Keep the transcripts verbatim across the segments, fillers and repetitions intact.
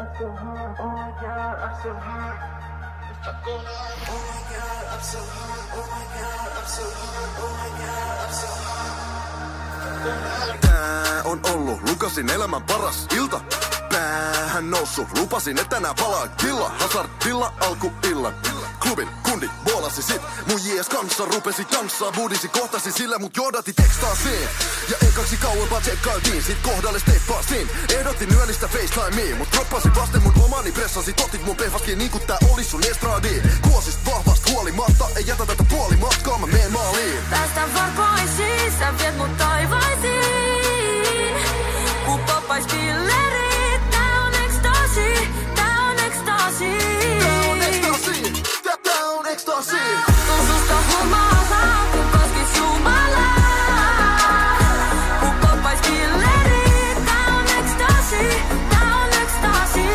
so high. Oh my god, I'm so high. Oh my god, I'm so high. Oh my god, I'm so high. Oh my god, I'm so high. Tää on ollut Lukasin elämän paras ilta. Päähän noussut, lupasin et tänään palaa killa. Hazardilla alkuillan. Klubin kundi boolasi sit. Mun jees kanssa rupesi tanssaa. Budisi kohtasi sillä mut johdatti tekstaasiin. Ja ekaksi kauempaa tsekkailtiin. Sit kohdalle steppasin. Ehdotin yöllistä FaceTimea. Mut droppasin vasten mun omani pressasi. Totit mun pehvaskin niin ku tää olis sun estradi. Kuosist vahvast huolimatta. Ei jätä tätä puoli matkaa, mä meen maaliin. Päästä varkoisiin, sä viet mut taivaisiin. Ku poppais pillerit, tää on ekstasi. Tää on ekstasi. Tää on ekstasi. Tää, tää on ekstasi. Tuun susta humalaa, ku koskis Jumalaa. Ku poppais pillerit, tää on ekstasi. Tää on ekstasi.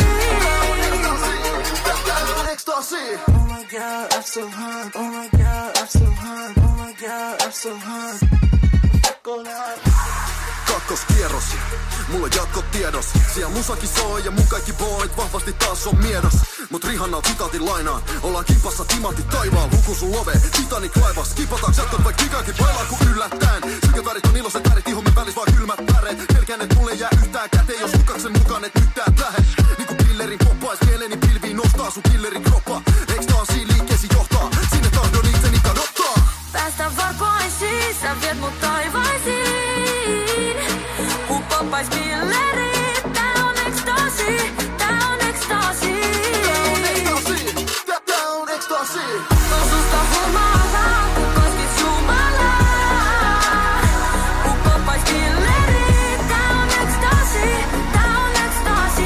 Tää on ekstasi. Oh my god, I'm so high. Oh my god, I'm so high. Oh my god, I'm so high. Fuck all that. Kakkoskierros, mulla on jatkot tiedos. Siellä musakin soi ja mun kaikki boyt vahvasti taas on miedos. Mut Rihannaa sitaatin lainaan. Ollaan kipassa timantti taivaan. Luku sun love, Titanic laivas. Kipataanko jätkot vai kikakin bailaa kun yllättäen. Sykevärit on iloiset värit, ihomme välis vaan kylmät väreet. Pelkään et mulle jää yhtään käteen, jos Lukaksen mukaan et nyt täät lähe. Niinku pillerin poppais, mieleni pilviin nostaa sun killerin kroppa. Ekstaasiin liikkeesi johtaa, sinne tahdon itseni kadottaa. Päästä varkoisiin, sä viet mut taivaisiin. Ku poppais pillerit, tää on ekstasi. Tää on ekstasi. Tää on ekstasi. Tää, tää on ekstasi. Tuun susta humalaa, ku koskis Jumalaa. Ku poppais pillerit, tää on ekstasi. Tää on ekstasi.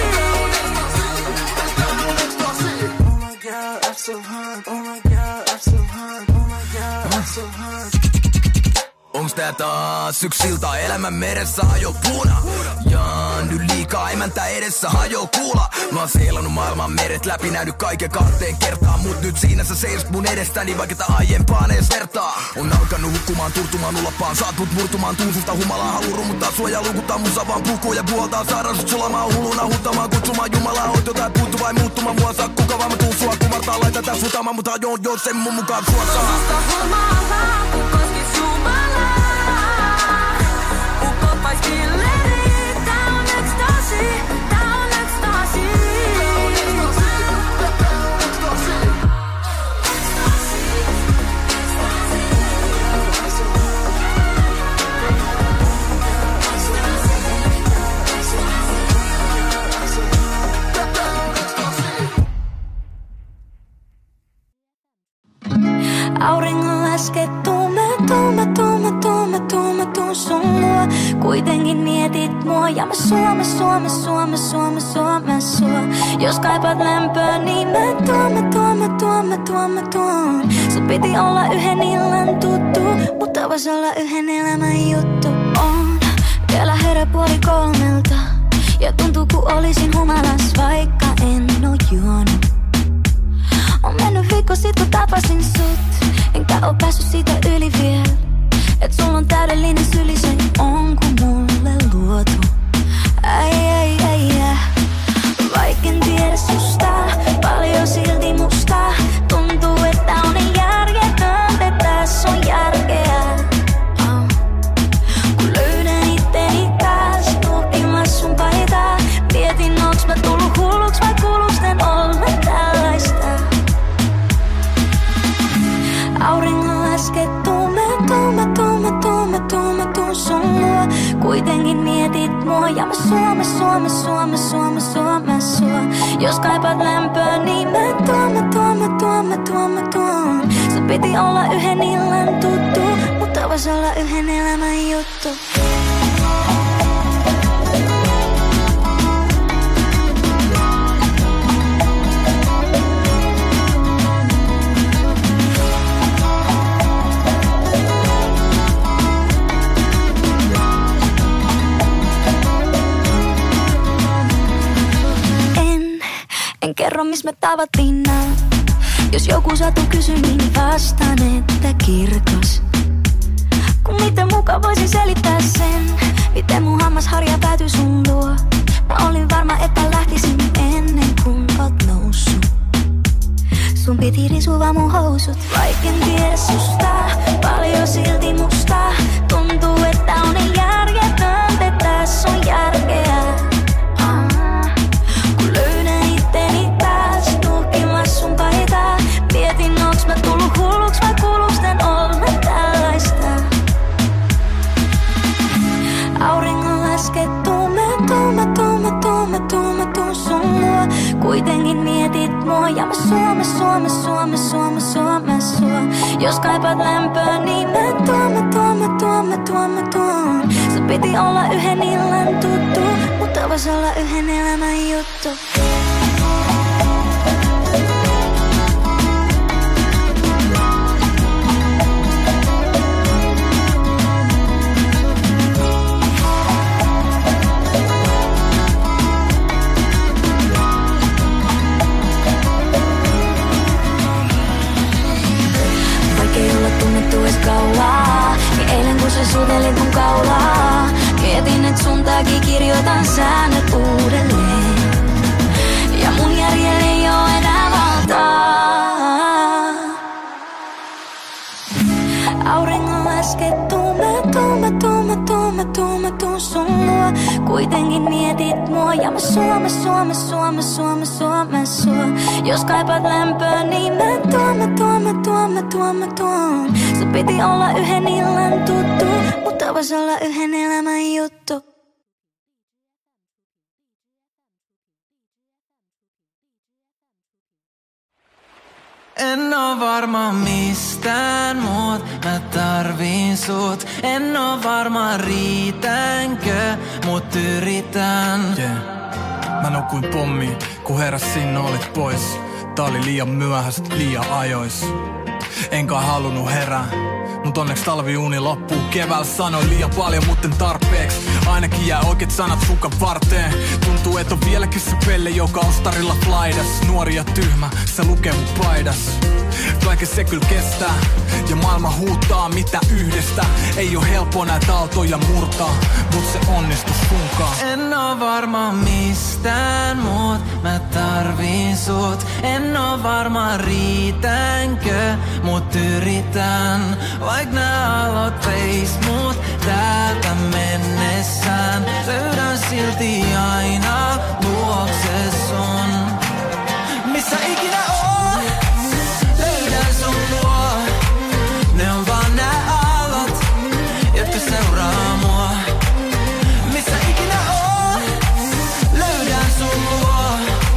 Tää on ekstasi. Oh my god, I'm so high. Oh my god, I'm so high. Oh my god, I'm so high. Onks tää taas yks silta elämän meressä hajo puuna? Jaan nyt liikaa emäntä edessä hajo kuula. Mä oon seilannut maailman meret läpi, nähnyt kaiken kahteen kertaan. Mut nyt siinä sä seisot mun edestäni, vaikka tää aiempaan ees vertaa. On alkanut hukkumaan, turtumaan, ulapaan. Saat mut murtumaan, tuun susta humalaa. Haluu rummuttaa sua ja lukuttaa musa vaan puhuu ja puoltaa. Saada sut sulamaan hulluna, huttamaan, kutsumaan Jumalaa. Oot jotain puuttu vai muuttumaan, mua saa kuka vaan mä tuun sua kumartaa. Laita tää sutamaan, mut hajoon jos sen mun mukaan sua saa. Susta humalaa, ku koskis Jumalaa. Ku poppais pillerit, tää on ekstasi. Tää on ekstasi. Auringon laskettu mä tuun, mä tuun, mä tuun, mä tuun, mä tuun sun luo. Kuitenkin mietit mua ja mä sua, mä sua, mä sua, mä sua, mä sua, mä sua. Jos kaipaat lämpöä, niin mä tuon, mä tuon, mä tuon, mä tuon, mä tuon. Sun piti olla yhden illan tuttu, mutta vois olla yhden elämän juttu. On vielä herä puoli kolmelta ja tuntuu ku olisin humalas, vaikka en oo juonut. On mennyt viikko sit kun tapasin sut, enkä oo päässyt siitä yli viel. Et sulla on täydellinen syli, se on ku mulle luotu. Ai ai ai ai. Vaik en tiedä susta, paljon silti musta. Tuntuu että on järjetöntä, tässä on järkeä. Oh. Kun löydän itteni taas, tutkimassa sun paitaa. Mietin onks mä tullut hulluks vai kuuluks tän olla tällaista. Auringon laskettu, mä tuun, mä tuun, mä tuun, mä tuun, mä tuun sun luo. Kuitenkin mietit mua ja mä sua, mä sua, mä sua, mä sua, mä sua, mä sua. Jos kaipaat lämpöä, niin mä tuon, mä tuon, mä tuon, mä tuon, mä tuon. Sun piti olla yhden illan tuttu, mutta vois olla yhden elämän juttu. En kerro mis me tavattiin nää. Jos joku satu kysy, niin vastaan, että kirkos. Kun miten muka voisin selittää sen, miten mun hammasharja päätyi sun luo. Mä olin varma, että lähtisin piti risua mun housut. Vaikka en tiedä susta, paljon silti musta. Tuntuu, että on niin järjetöntä, tässä on järkeä. Ah, kun löydän itteni taas, tuhkimassa sun paitaa. Mietin, onks mä tullut hulluks vai kuuluks tän olla tällaista. Auringon laskettu, mä tuun, mä tuun, mä tuun, mä tuun, mä tuun sun luo. Kuitenkin mietit mua ja mä suo, mä suo, mä suo, mä suo, mä suo, mä suo. Jos kaipaat lämpöä, niin mä tuon, mä tuon, mä tuon, mä tuon, mä tuon. Se piti olla yhden illan tuttu, mutta vois olla yhden elämän juttu. Niin eilen kun sä suutelit mun kaulaa, mietin et sun takia kirjoitan säännöt uudelleen. Ja mun järjellä ei oo enää valtaa. Auringon laskettu, mä tuun, mä tuun, mä tuun, mä tuun, mä tuun sun luo. Kuitenkin mietit mua ja mä suo, mä suo, mä suo, mä suo, mä suo, mä suo. Jos kaipaat lämpöä, niin mä tuon, mä tuon, mä tuon, mä tuon, mä tuon. Se piti olla yhden illan tuttu, mutta vois olla yhden elämän juttu. En oo varma mistään muut, mä tarviin sut. En oo varma riitänkö, mut yritän. Yeah. Mä nukuin pommiin, kun heräsin olit pois. Tää oli liian myöhäistä, liian ajois. Enkä halunnut herää, mut onneksi talviuni loppuu keväällä. Sanoin liian paljon, mutten tarpeeksi. Ainakin jää oikeet sanat sukan varteen. Tuntuu, et on vieläkin se pelle, joka on starilla flaidas. Nuori ja tyhmä, se lukee mun paidas. Kaiken se kyllä kestää, ja maailma huutaa mitä yhdestä. Ei oo helppo näitä aaltoja murtaa, mut se onnistus sunkaan. En oo varma mistään muut, mä tarviin sut. En oo varma riitänkö, mut yritän. Vaik nää alot veis mut täältä mennessään. Löydän silti aina luokse sun. Missä ikinä oon, löydän sun luo. Ne on vaan nää aallot, jotka seuraa mua. Missä ikinä oon, löydän sun luo.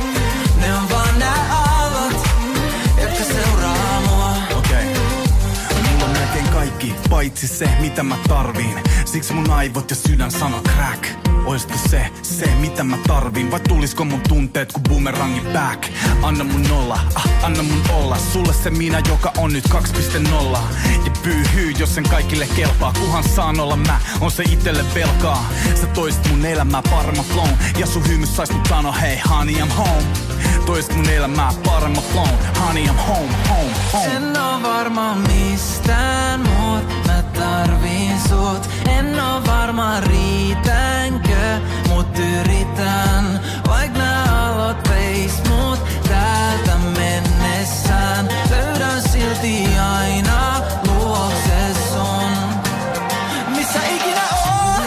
Ne on vaan nää aallot, jotka seuraa mua. Okei, okay. Mulla on melkein kaikki, paitsi se mitä mä tarviin. Siksi mun aivot ja sydän sano crack. Oisko se, se mitä mä tarviin? Vai tulisko mun tunteet ku boomerangin back? Anna mun olla, ah, anna mun olla. Sulle se minä, joka on nyt kaksi piste nolla. Ja pyyhyy, jos sen kaikille kelpaa. Kuhan saan olla mä, on se itelle velkaa. Sä toisit mun elämää paremman flown. Ja sun hymys sais mut sano hei honey I'm home. Toisit mun elämää paremman flown. Honey I'm home, home, home. En oo varma mistään muut, mä tarviin sut. En oo varma riitänkö, mut yritän. Vaik nää alot veis mut täältä mennessään. Löydän silti aina luokse sun. Missä ikinä oon,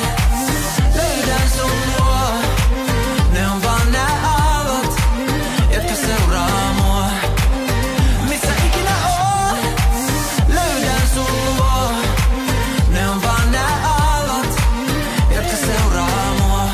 löydän sun luo. Ne on vaan nää aallot, jotka seuraa mua. Missä ikinä oon, löydän sun luo. Ne on vaan nää aallot, jotka seuraa mua.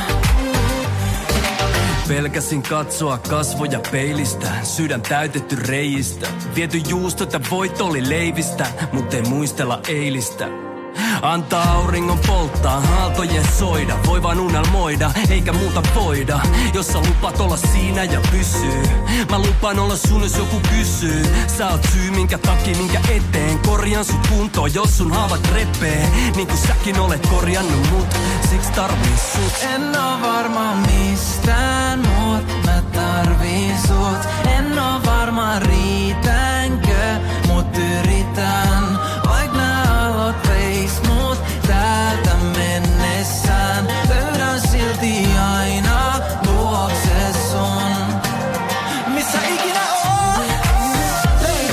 Pelkäsin katsoa kasvoja peilistä, sydän täytetty reijistä. Viety juustot ja voit oli leivistä, mut ei muistella eilistä. Antaa auringon polttaa, aaltojen soida. Voi vaan unelmoida, eikä muuta voida. Jos sä lupaat olla siinä ja pysyy. Mä lupaan olla sun, jos joku kysyy. Sä oot syy, minkä takia, minkä eteen. Korjaan sut kuntoon, jos sun haavat repee. Niin kuin säkin olet korjannut mut, siksi tarviin sut. En oo varma mistään muut, mä tarviin sut. En oo varma riitänkö, mut yritän. Vaik nää alot veis mut täältä mennessään. Löydän silti aina luokse sun. Missä ikinä oon, löydän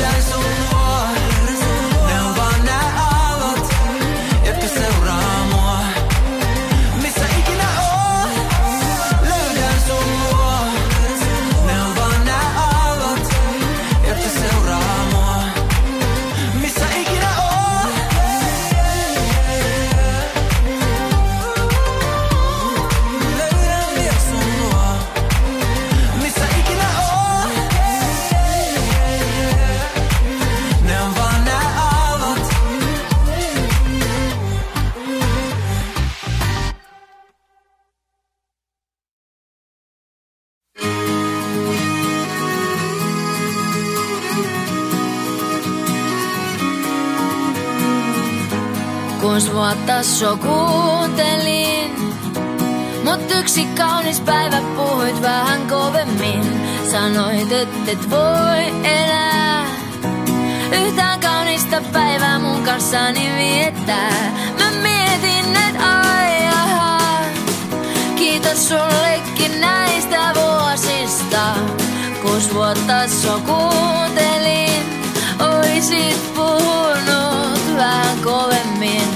Kuusi vuotta sua kuuntelin, mut yksi kaunis päivä puhuit vähän kovemmin. Sanoit, et et voi elää yhtään kaunista päivää mun kanssani viettää. Mä mietin, et ai aha, kiitos sullekin näistä vuosista. Kuusi vuotta sua kuuntelin, oisit puhunut vähän kovemmin.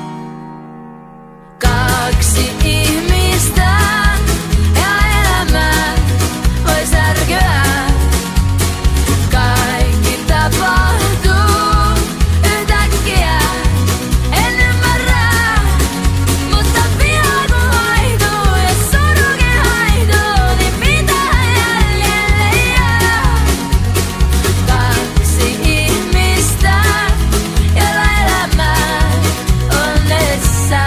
Kaksi ihmistä ja elämä voi särkyä. Kaikki tapahtuu yhtäkkiä, en ymmärrä, mutta viha kun vaihtuu ja surukin haihtuu, niin mitä jäljelle jää? Kaksi ihmistä, joilla elämä on edessä.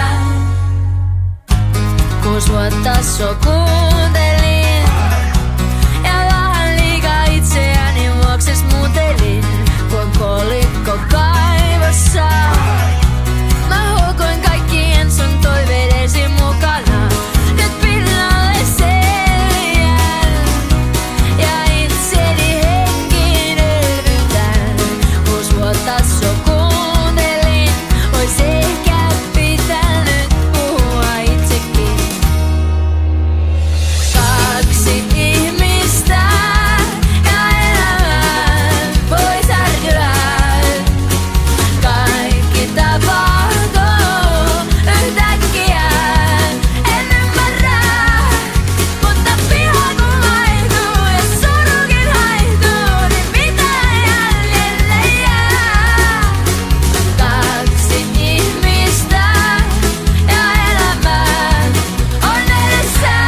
Kuusi vuotta sua kuuntelin ja vähän liikaa itseäni vuokses muutelin. Kuin kolikko kaivossa mä huokoin kaikkien sun toiveidesi mukana. Nyt pinnalle selviän ja itseni henkiin elvytän. Kuusi vuotta sua kuuntelin, ois ehkä pitänyt puhua itsekin. Kaksi ihmistä ja elämä voi särkyä. Kaikki tapahtuu yhtäkkiä, en ymmärrä, mutta viha kun vaihtuu ja surukin haihtuu, niin mitä jäljelle jää? Kaksi ihmistä ja elämä on edessä.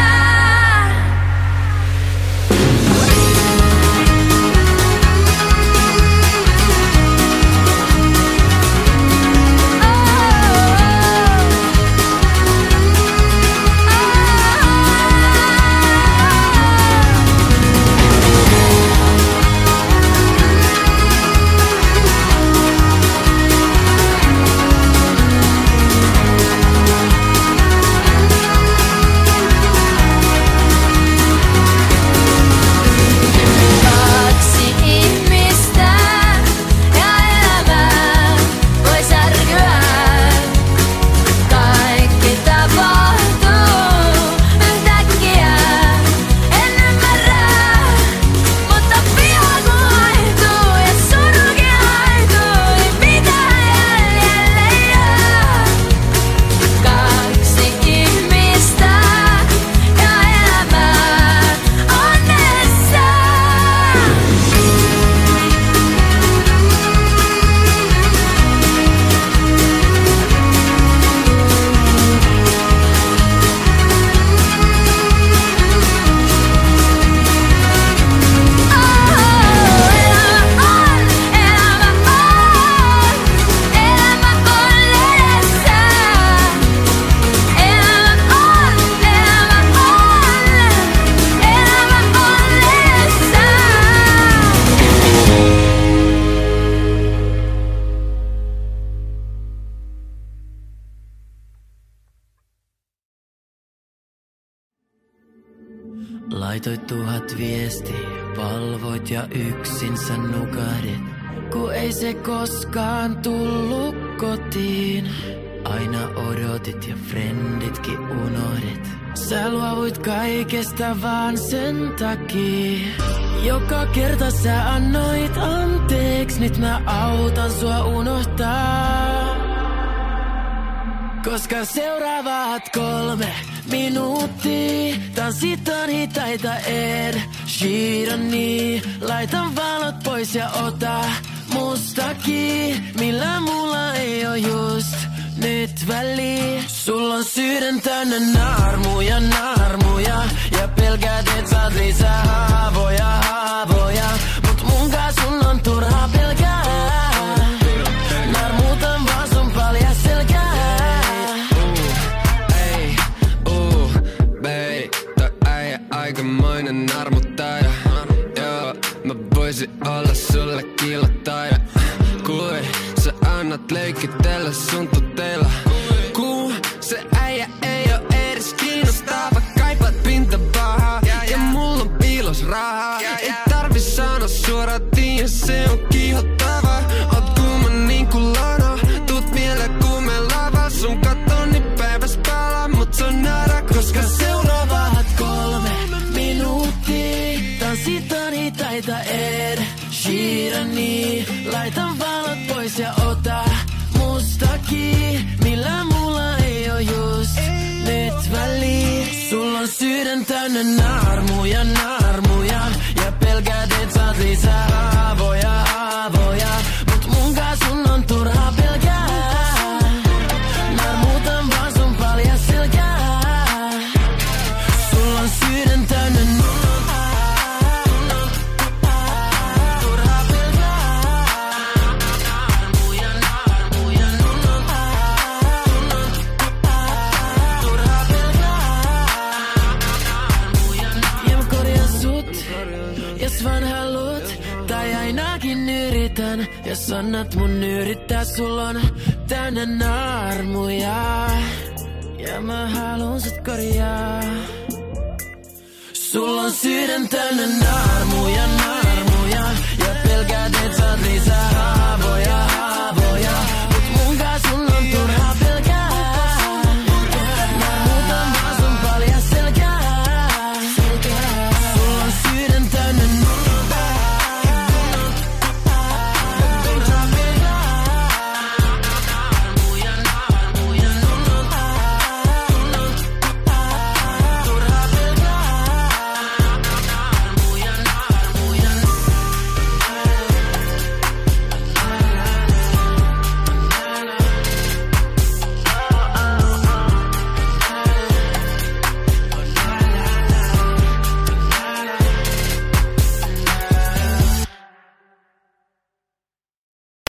Kaksi ihmistä ja elämä voi särkyä. Kaikki tapahtuu yhtäkkiä, en ymmärrä, mutta viha kun vaihtuu ja surukin haihtuu, niin mitä jäljelle jää? Kaksi ihmistä ja elämä on edessä. Laitoit tuhat viestiä, valvoit ja yksin sä nukahdit. Ku ei se koskaan tullut kotiin. Aina odotit ja frenditkin unohdit. Sä luovuit kaikesta vaan sen takia. Joka kerta sä annoit anteeks, nyt mä autan sua unohtaa. Koska seuraavat kolme minuuttia tanssitaan hitaita Ed Sheerania. Laitan valot pois ja ota mustakin, millä mulla ei oo just nyt väliä. Sulla on sydän täynnä naarmuja, naarmuja, ja pelkäät et saat lisää haavoja, haavoja. Mut mun kanssa sun on turhaa pelkää. Naarmuutan vaan sun paljas selkää. Aikamoinen narmuttaja, joo. Mä voisin olla sulle kilottaja. Kui sä annat leikitellä sun tutteilla. Kun se äijä ei oo edes kiinnostava, kaipaat pintapahaa ja mulla on piilos rahaa. Ei tarvi sanoa suoraan, tiiä se on kiihottava. Oot kuuma niinku lana, tuut mieleen kun me lava. Sun katoni päiväs palaa, mut se on nada, koska seuraavat kolme minuuttia tanssitaan hitaita Ed Sheerania. Laitan valot pois ja ota mustakin, millä mulla ei oo just nyt väliä. Sulla on sydän täynnä naarmuja, naarmuja, ja pelkäät et saat lisää haavoja, haavoja. Mut munkaan sun on turhaa pelkää. Naarmuutan vaan sun paljas selkää. Sulla on sydän täynnä vaan haluut, tai ainakin yritän. Jos annat mun yrittää, sulla on täynnä naarmuja, ja mä haluun sut korjaa. Sulla on sydän täynnä naarmuja, naarmuja, ja pelkäät et saat lisää.